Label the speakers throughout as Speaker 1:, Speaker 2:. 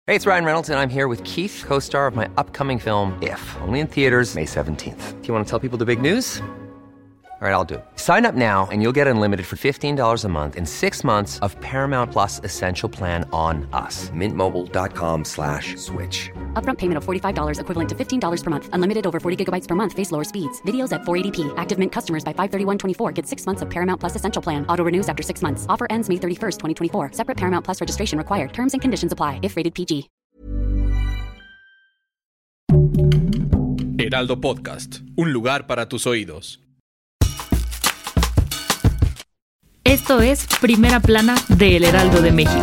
Speaker 1: Hey, it's Ryan Reynolds, and I'm here with Keith, co-star of my upcoming film, If, only in theaters May 17th. Do you want to tell people the big news? All right, I'll do it. Sign up now and you'll get unlimited for $15 a month and 6 months of Paramount Plus Essential Plan on us. MintMobile.com/switch.
Speaker 2: Upfront payment of $45 equivalent to $15 per month. Unlimited over 40 gigabytes per month. Face lower speeds. Videos at 480p. Active Mint customers by 531.24 get 6 months of Paramount Plus Essential Plan. Auto renews after 6 months. Offer ends May 31st, 2024. Separate Paramount Plus registration required. Terms and conditions apply if rated PG.
Speaker 3: Heraldo Podcast. Un lugar para tus oídos.
Speaker 4: Esto es Primera Plana de El Heraldo de México.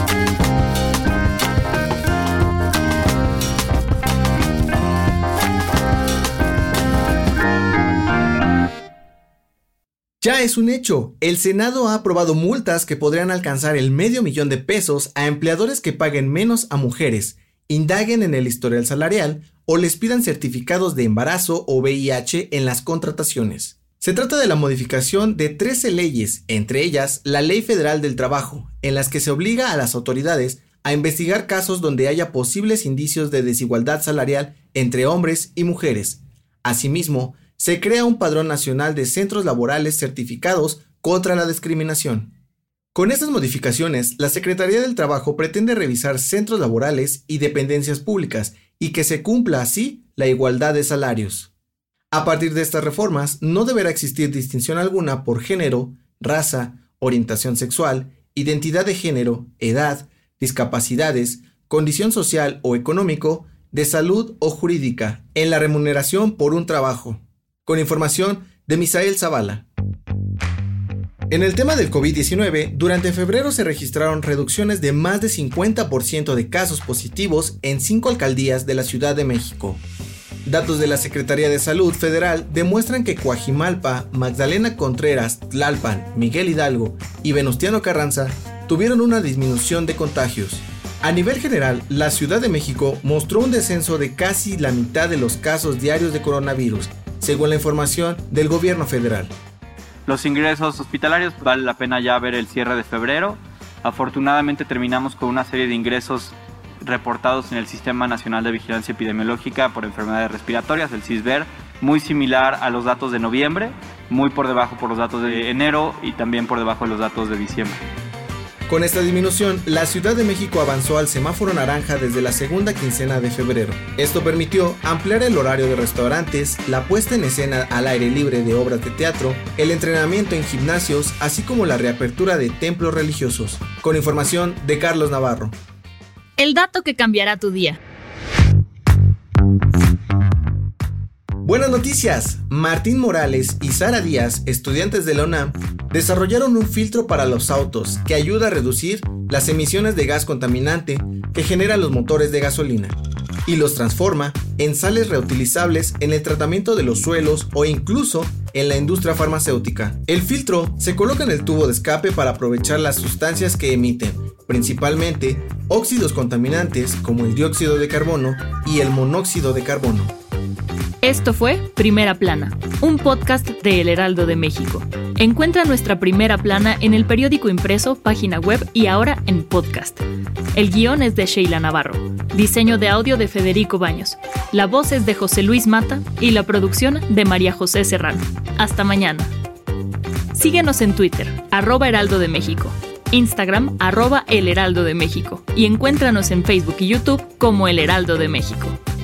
Speaker 5: Ya es un hecho, el Senado ha aprobado multas que podrían alcanzar el $500,000 a empleadores que paguen menos a mujeres, indaguen en el historial salarial o les pidan certificados de embarazo o VIH en las contrataciones. Se trata de la modificación de 13 leyes, entre ellas la Ley Federal del Trabajo, en las que se obliga a las autoridades a investigar casos donde haya posibles indicios de desigualdad salarial entre hombres y mujeres. Asimismo, se crea un padrón nacional de centros laborales certificados contra la discriminación. Con estas modificaciones, la Secretaría del Trabajo pretende revisar centros laborales y dependencias públicas y que se cumpla así la igualdad de salarios. A partir de estas reformas, no deberá existir distinción alguna por género, raza, orientación sexual, identidad de género, edad, discapacidades, condición social o económico, de salud o jurídica, en la remuneración por un trabajo. Con información de Misael Zavala. En el tema del COVID-19, durante febrero se registraron reducciones de más de 50% de casos positivos en 5 alcaldías de la Ciudad de México. Datos de la Secretaría de Salud Federal demuestran que Coajimalpa, Magdalena Contreras, Tlalpan, Miguel Hidalgo y Venustiano Carranza tuvieron una disminución de contagios. A nivel general, la Ciudad de México mostró un descenso de casi la mitad de los casos diarios de coronavirus, según la información del gobierno federal.
Speaker 6: Los ingresos hospitalarios, vale la pena ya ver el cierre de febrero. Afortunadamente terminamos con una serie de ingresos reportados en el Sistema Nacional de Vigilancia Epidemiológica por Enfermedades Respiratorias, el CISVER, muy similar a los datos de noviembre, muy por debajo por los datos de enero y también por debajo de los datos de diciembre.
Speaker 5: Con esta disminución, la Ciudad de México avanzó al semáforo naranja desde la segunda quincena de febrero. Esto permitió ampliar el horario de restaurantes, la puesta en escena al aire libre de obras de teatro, el entrenamiento en gimnasios, así como la reapertura de templos religiosos. Con información de Carlos Navarro.
Speaker 4: El dato que cambiará tu día.
Speaker 5: Buenas noticias. Martín Morales y Sara Díaz, estudiantes de la UNAM, desarrollaron un filtro para los autos que ayuda a reducir las emisiones de gas contaminante que generan los motores de gasolina y los transforma en sales reutilizables en el tratamiento de los suelos o incluso en la industria farmacéutica. El filtro se coloca en el tubo de escape para aprovechar las sustancias que emiten, principalmente óxidos contaminantes como el dióxido de carbono y el monóxido de carbono.
Speaker 4: Esto fue Primera Plana, un podcast de El Heraldo de México. Encuentra nuestra Primera Plana en el periódico impreso, página web y ahora en podcast. El guión es de Sheila Navarro, diseño de audio de Federico Baños, la voz es de José Luis Mata y la producción de María José Serrano. Hasta mañana. Síguenos en Twitter, @Heraldo de México, Instagram, @El Heraldo de México y encuéntranos en Facebook y YouTube como El Heraldo de México.